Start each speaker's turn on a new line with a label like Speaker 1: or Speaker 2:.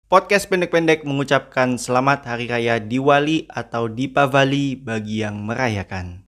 Speaker 1: Podcast pendek-pendek mengucapkan selamat Hari Raya Diwali atau Dipavali bagi yang merayakan.